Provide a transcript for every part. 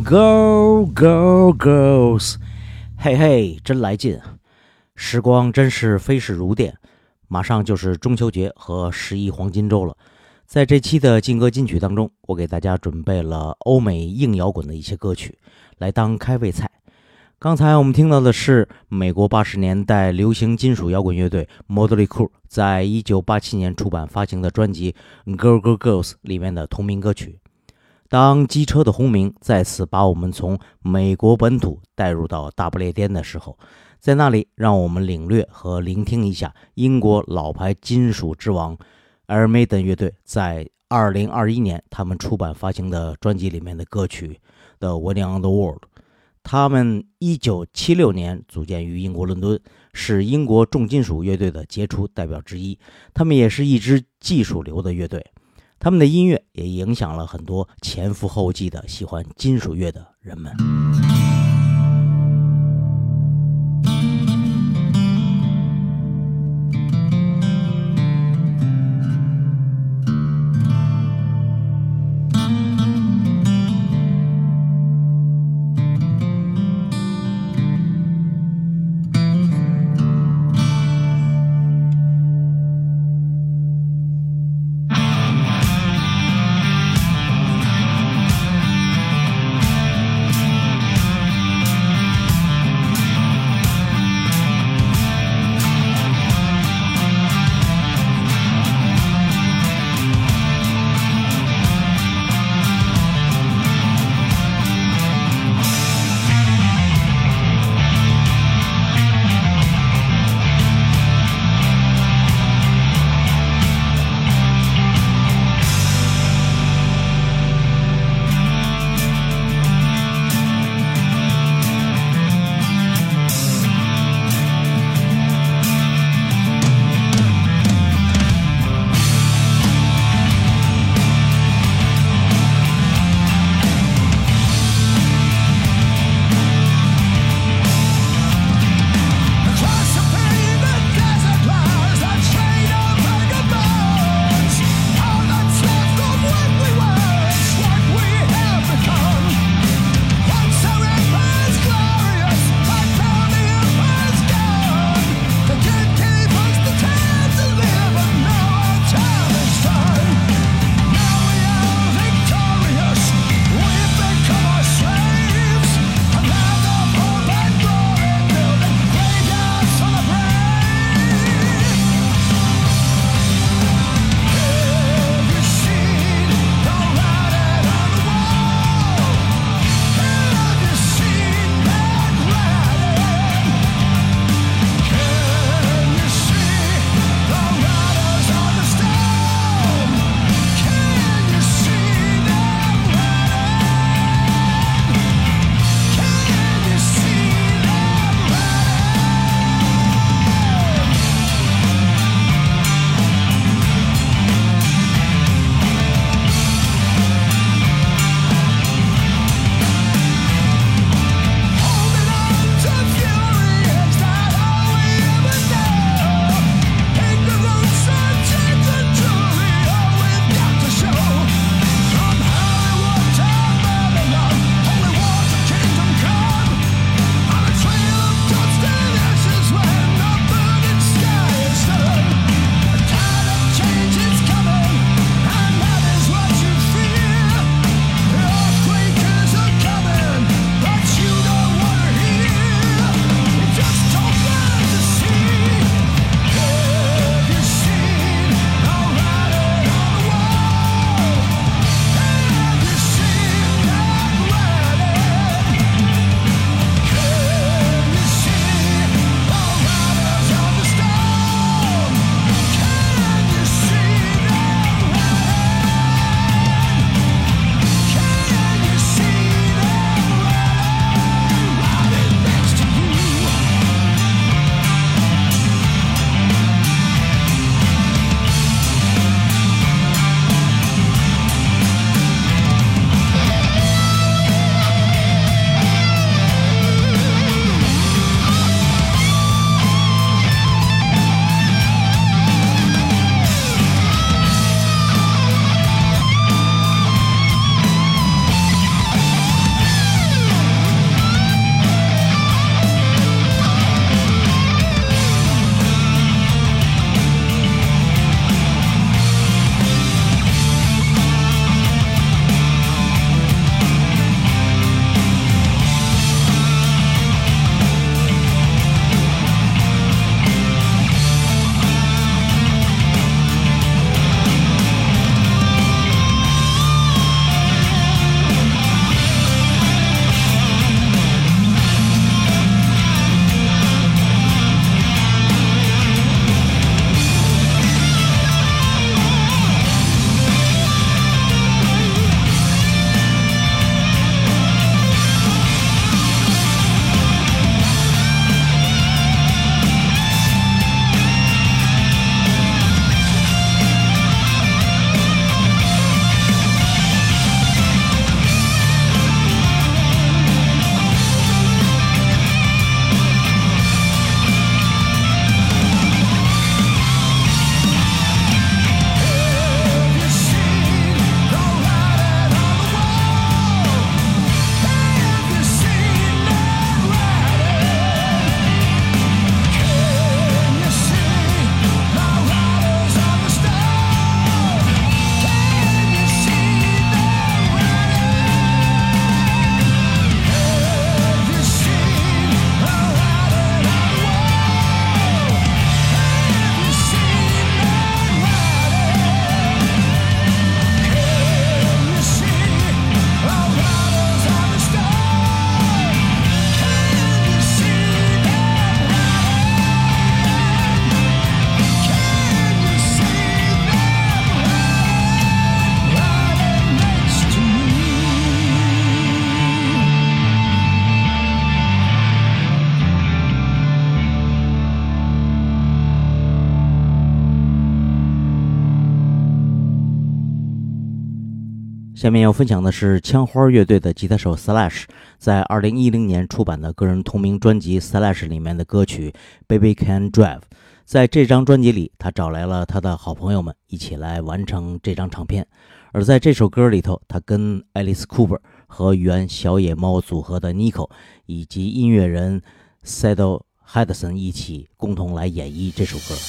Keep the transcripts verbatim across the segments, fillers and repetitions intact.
Go Go Girls， 嘿嘿，真来劲！时光真是飞逝如电，马上就是中秋节和十一黄金周了。在这期的劲歌金曲当中，我给大家准备了欧美硬摇滚的一些歌曲，来当开胃菜。刚才我们听到的是美国八十年代流行金属摇滚乐队 Motley Crue 在一九八七年出版发行的专辑 Go Go Girls 里面的同名歌曲。当机车的轰鸣再次把我们从美国本土带入到大不列颠的时候，在那里让我们领略和聆听一下英国老牌金属之王 Iron Maiden 乐队在二零二一年他们出版发行的专辑里面的歌曲 The Wedding on the World。 他们一九七六年组建于英国伦敦，是英国重金属乐队的杰出代表之一，他们也是一支技术流的乐队。他们的音乐也影响了很多前赴后继的喜欢金属乐的人们。 下面要分享的是枪花乐队的吉他手 Slash 在二零一零年出版的个人同名专辑 Slash 里面的歌曲 Baby Can Drive。 在这张专辑里，他找来了他的好朋友们一起来完成这张唱片。而在这首歌里头，他跟 Alice Cooper 和原小野猫组合的 Nico 以及音乐人 Saddle Hudson 一起共同来演绎这首歌。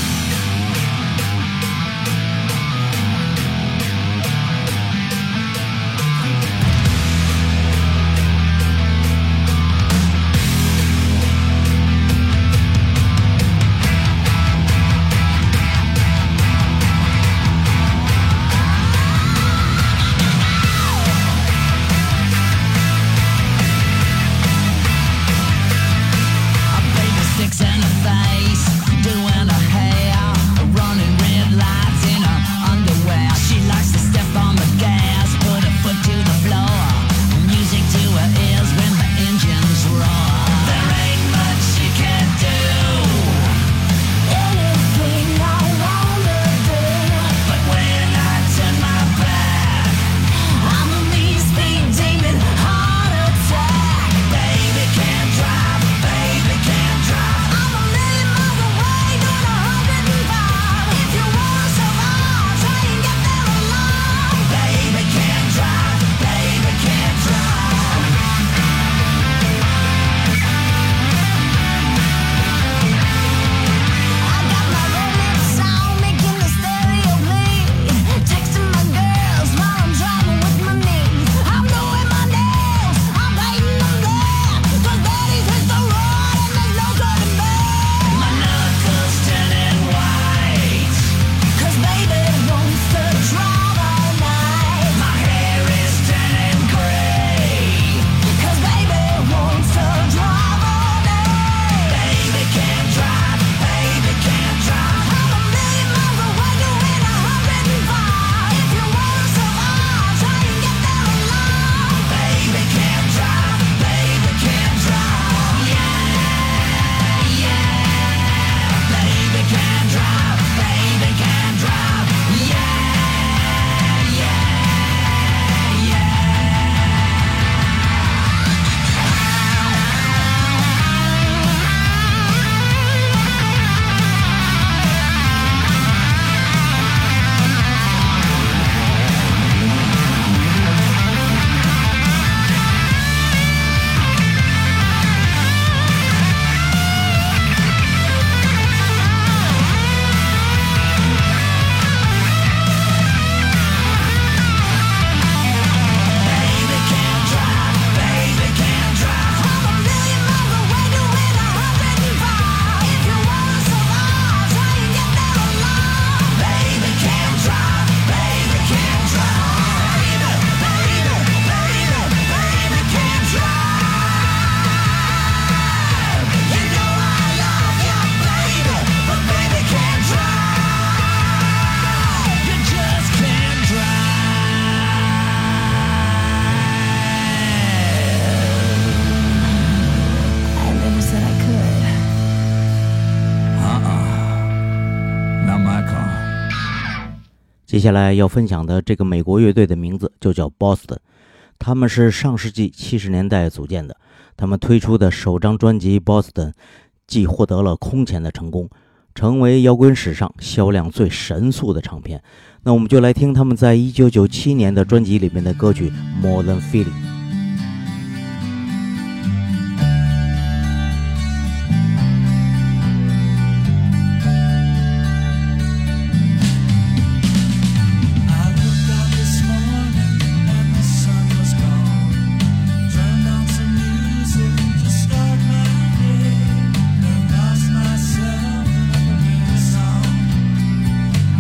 接下来要分享的这个美国乐队的名字就叫 Boston， 他们是上世纪七十年代组建的。他们推出的首张专辑 Boston 既获得了空前的成功，成为摇滚史上销量最神速的唱片。那我们就来听他们在一九九七年的专辑里面的歌曲 More Than Feeling。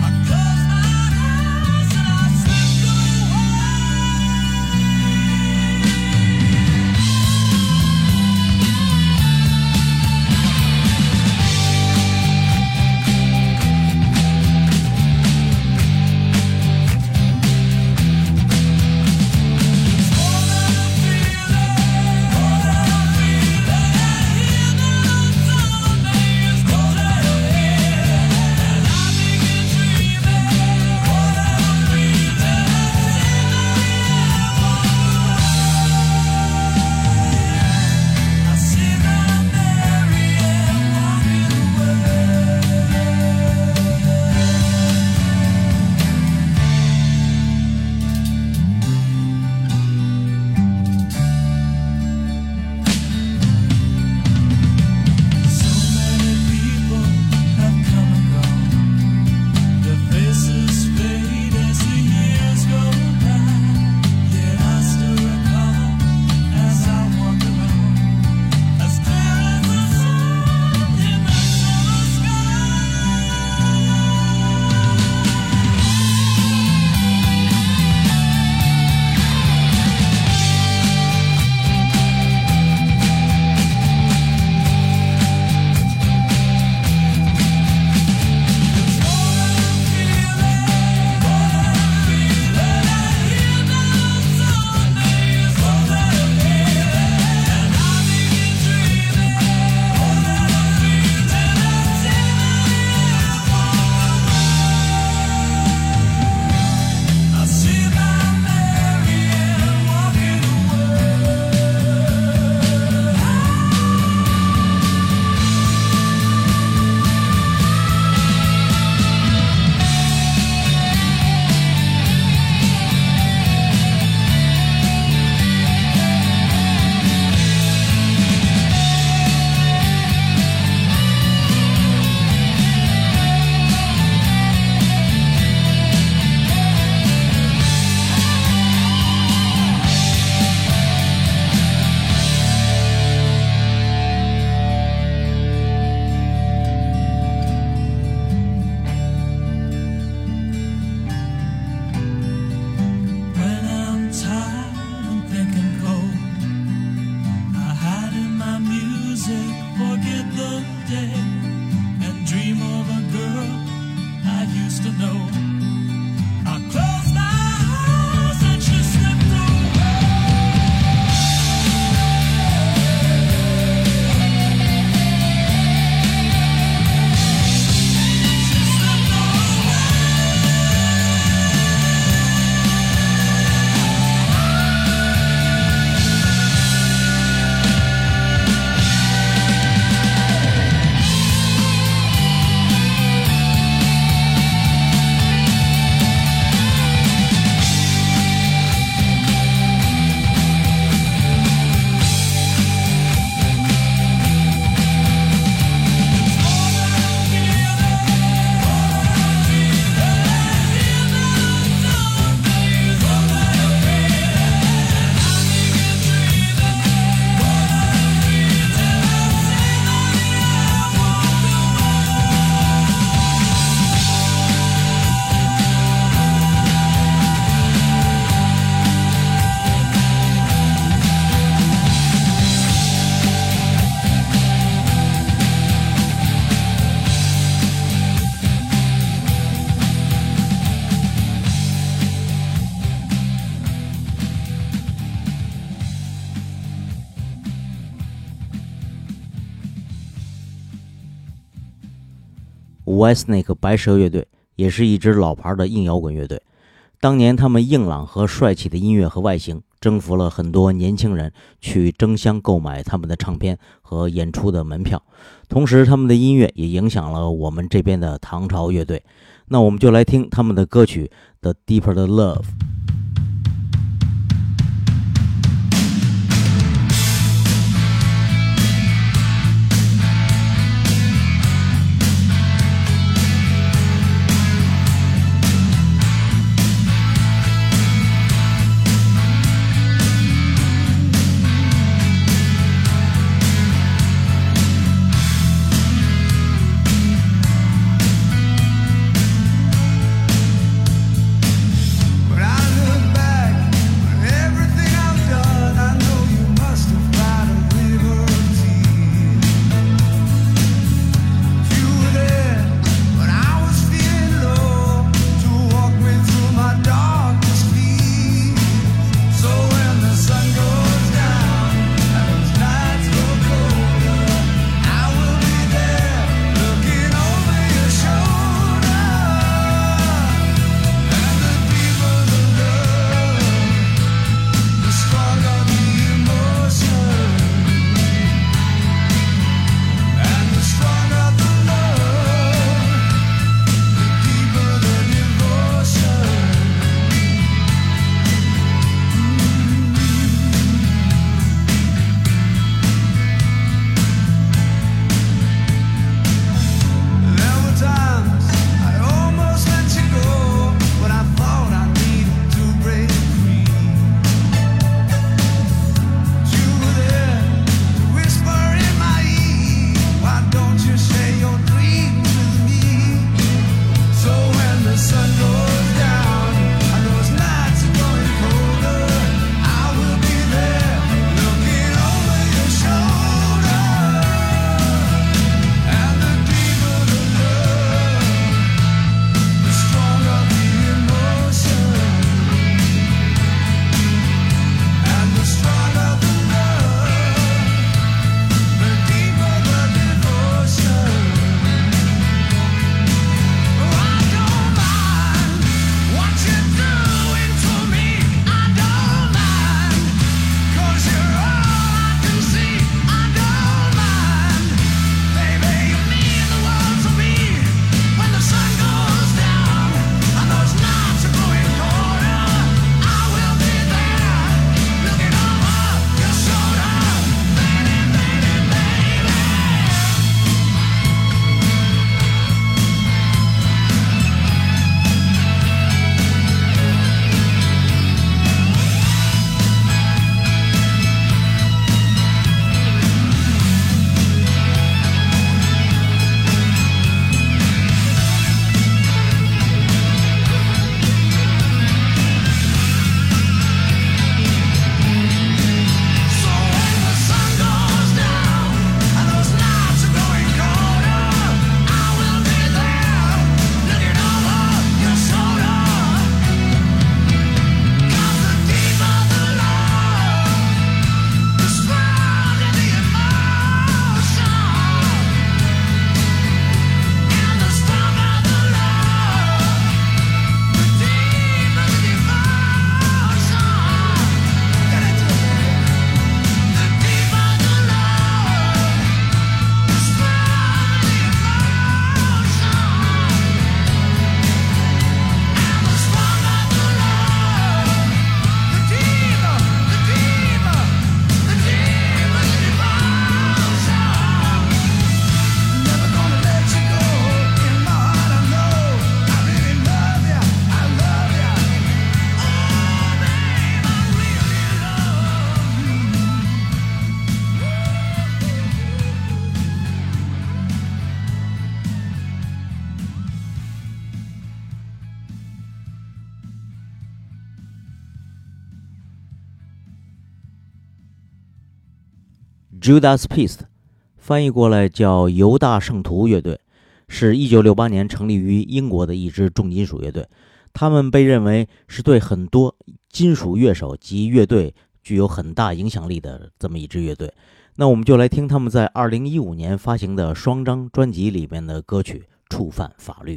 Thank supposed to know. I closed my eyes and she slipped away. She slipped away. Whitesnake 白蛇乐队也是一支老牌的硬摇滚乐队，当年他们硬朗和帅气的音乐和外形征服了很多年轻人去争相购买他们的唱片和演出的门票，同时他们的音乐也影响了我们这边的唐朝乐队。那我们就来听他们的歌曲 The Deeper the Love。 But I Judas Priest， 翻译过来叫犹大圣徒乐队，是一九六八年成立于英国的一支重金属乐队。他们被认为是对很多金属乐手及乐队具有很大影响力的这么一支乐队。那我们就来听他们在二零一五年发行的双张专辑里面的歌曲《触犯法律》。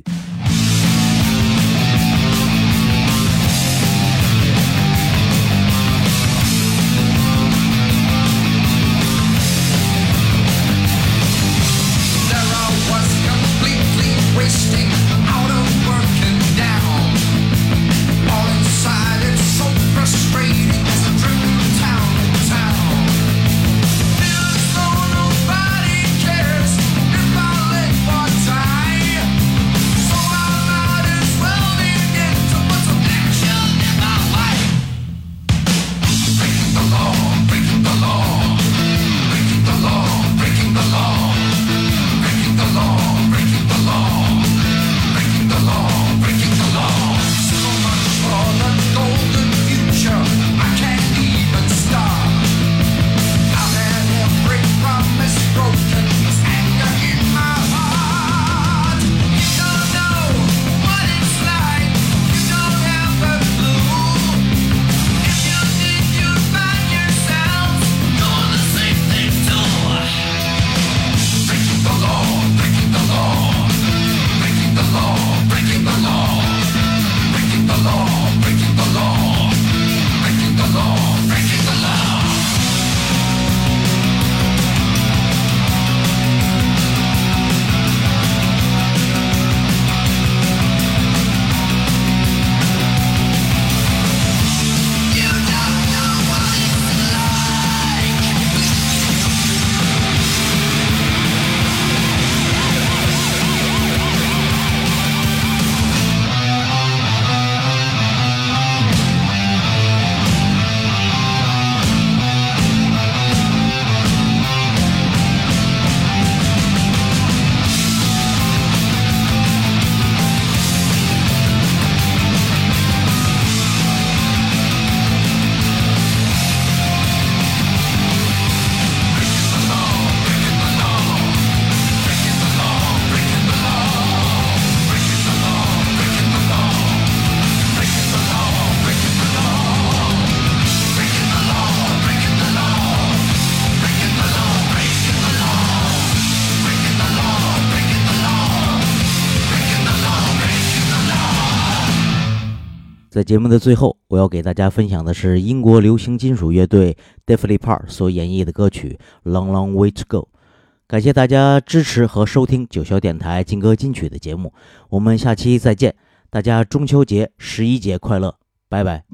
在节目的最后，我要给大家分享的是英国流行金属乐队 Def Leppard 所演绎的歌曲 Long Long Way to Go。 感谢大家支持和收听九霄电台金歌金曲的节目，我们下期再见，大家中秋节十一节快乐，拜拜。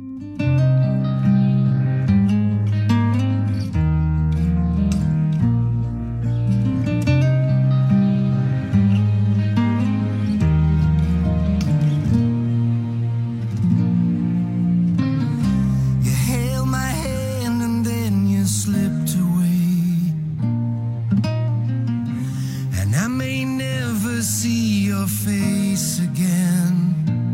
Face again.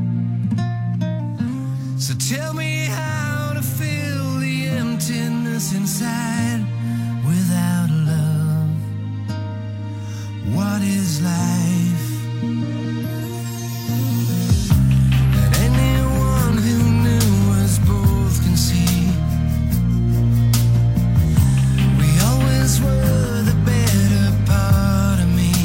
So tell me how to fill the emptiness inside without love. What is life? And anyone who knew us both can see we always were the better part of me.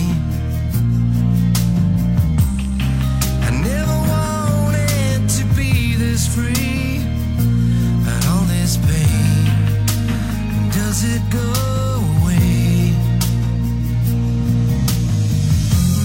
Free, but all this pain, does it go away?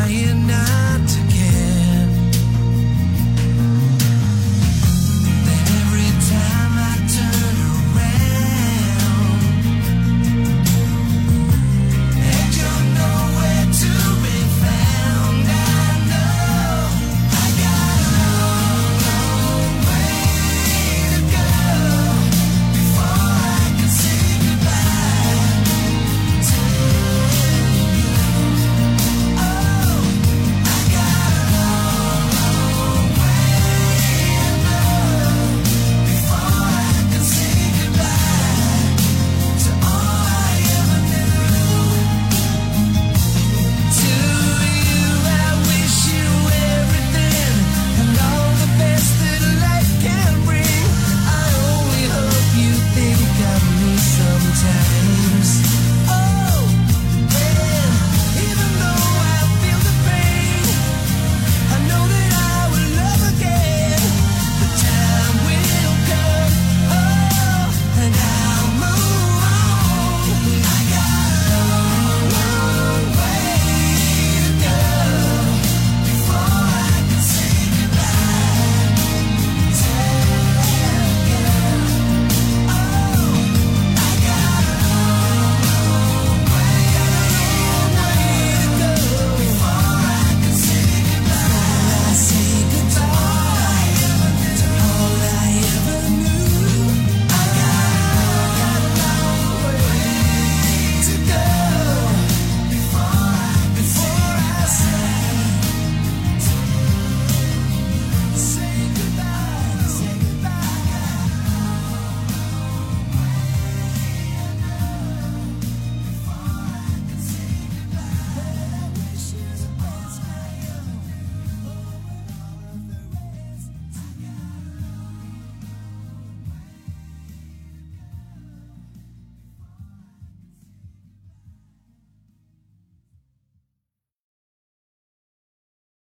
lying